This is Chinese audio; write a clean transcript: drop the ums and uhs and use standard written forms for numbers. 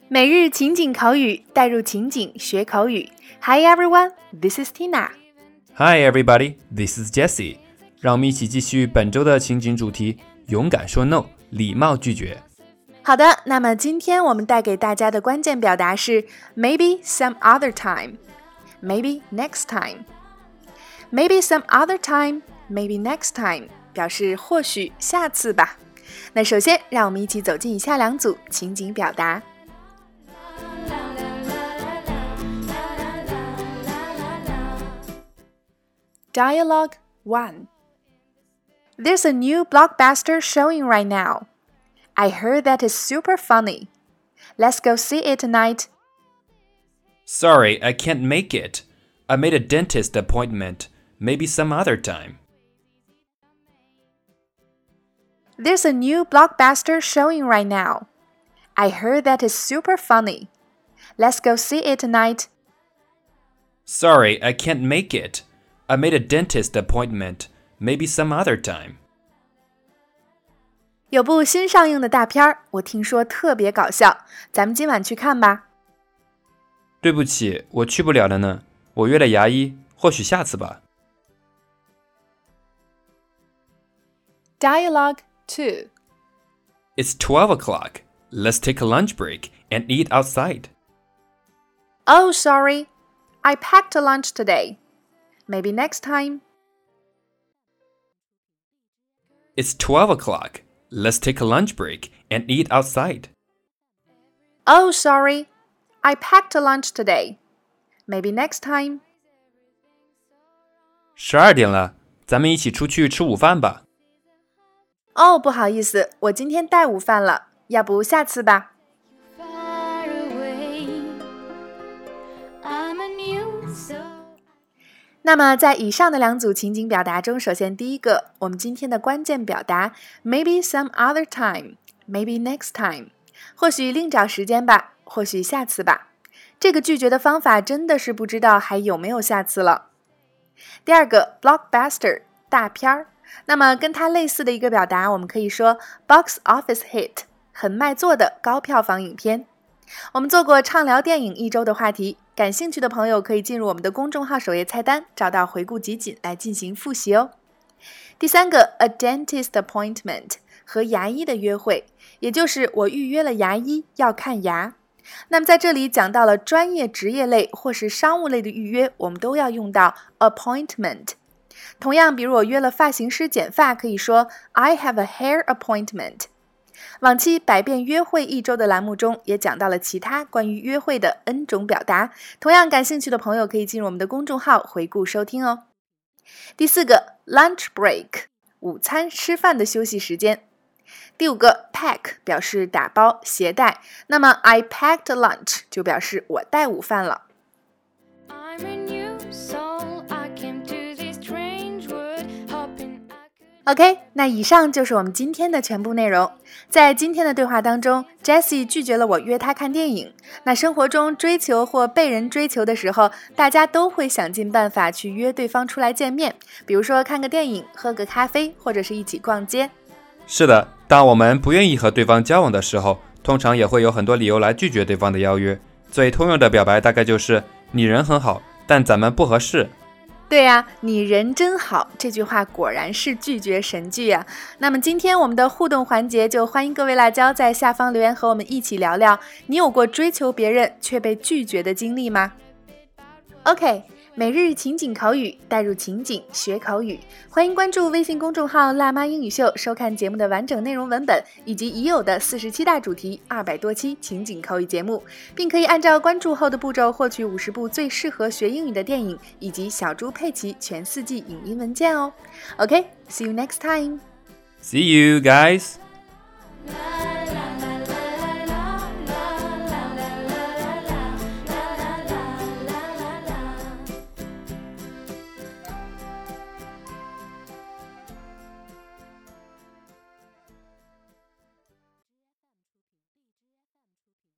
每日情景口语，带入情景学口语。Hi everyone, this is Tina. Hi everybody, this is Jessie. 让我们一起继续本周的情景主题：勇敢说 no， 礼貌拒绝。 好的，那么今天我们带给大家的关键表达是 Maybe some other time, Maybe next time. Maybe some other time, Maybe next time 表示或许下次吧。那首先让我们一起走进以下两组情景表达。Dialogue 1. There's a new blockbuster showing right now. I heard that it's super funny. Let's go see it tonight. Sorry, I can't make it. I made a dentist appointment. Maybe some other time. There's a new blockbuster showing right now. I heard that it's super funny. Let's go see it tonight. Sorry, I can't make it. I made a dentist appointment. Maybe some other time. 有部新上映的大片儿，我听说特别搞笑，咱们今晚去看吧。 对不起，我去不了了呢。我约了牙医，或许下次吧。 Dialogue 2. It's 12 o'clock. Let's take a lunch break and eat outside. Oh, sorry. I packed a lunch today. Maybe next time. It's 12 o'clock. Let's take a lunch break and eat outside. Oh, sorry. I packed a lunch today. Maybe next time. 12点了，咱们一起出去吃午饭吧。 哦，不好意思，我今天带午饭了，要不下次吧。那么在以上的两组情景表达中，首先第一个，我们今天的关键表达 Maybe some other time, Maybe next time 或许另找时间吧，或许下次吧。这个拒绝的方法真的是不知道还有没有下次了。第二个 Blockbuster 大片儿，那么跟它类似的一个表达，我们可以说 Box office hit 很卖座的高票房影片。我们做过畅聊电影一周的话题，感兴趣的朋友可以进入我们的公众号首页菜单，找到回顾集锦来进行复习哦。第三个 A dentist appointment 和牙医的约会，也就是我预约了牙医要看牙。那么在这里讲到了专业职业类或是商务类的预约，我们都要用到 appointment。同样，比如我约了发型师剪发，可以说 I have a hair appointment。往期百变约会一周的栏目中也讲到了其他关于约会的 N 种表达，同样感兴趣的朋友可以进入我们的公众号回顾收听哦。第四个 lunch break 午餐吃饭的休息时间。第五个 pack 表示打包携带，那么 I packed lunch 就表示我带午饭了。OK， 那以上就是我们今天的全部内容。在今天的对话当中 Jessie 拒绝了我约她看电影。那生活中追求或被人追求的时候，大家都会想尽办法去约对方出来见面，比如说看个电影，喝个咖啡，或者是一起逛街。 是的，当我们不愿意和对方交往的时候，通常也会有很多理由来拒绝对方的邀约。最通用的表白大概就是你人很好，但咱们不合适。 对呀，你人真好，这句话果然是拒绝神句呀。那么今天我们的互动环节，就欢迎各位辣椒在下方留言和我们一起聊聊，你有过追求别人却被拒绝的经历吗？ OK， 每日情景口语，带入情景学口语。欢迎关注微信公众号辣妈英语秀，收看节目的完整内容文本，以及已有的47大主题200多期情景口语节目，并可以按照关注后的步骤获取50部最适合学英语的电影，以及小猪佩奇全4季影音文件哦。OK，see you next time. See you guys.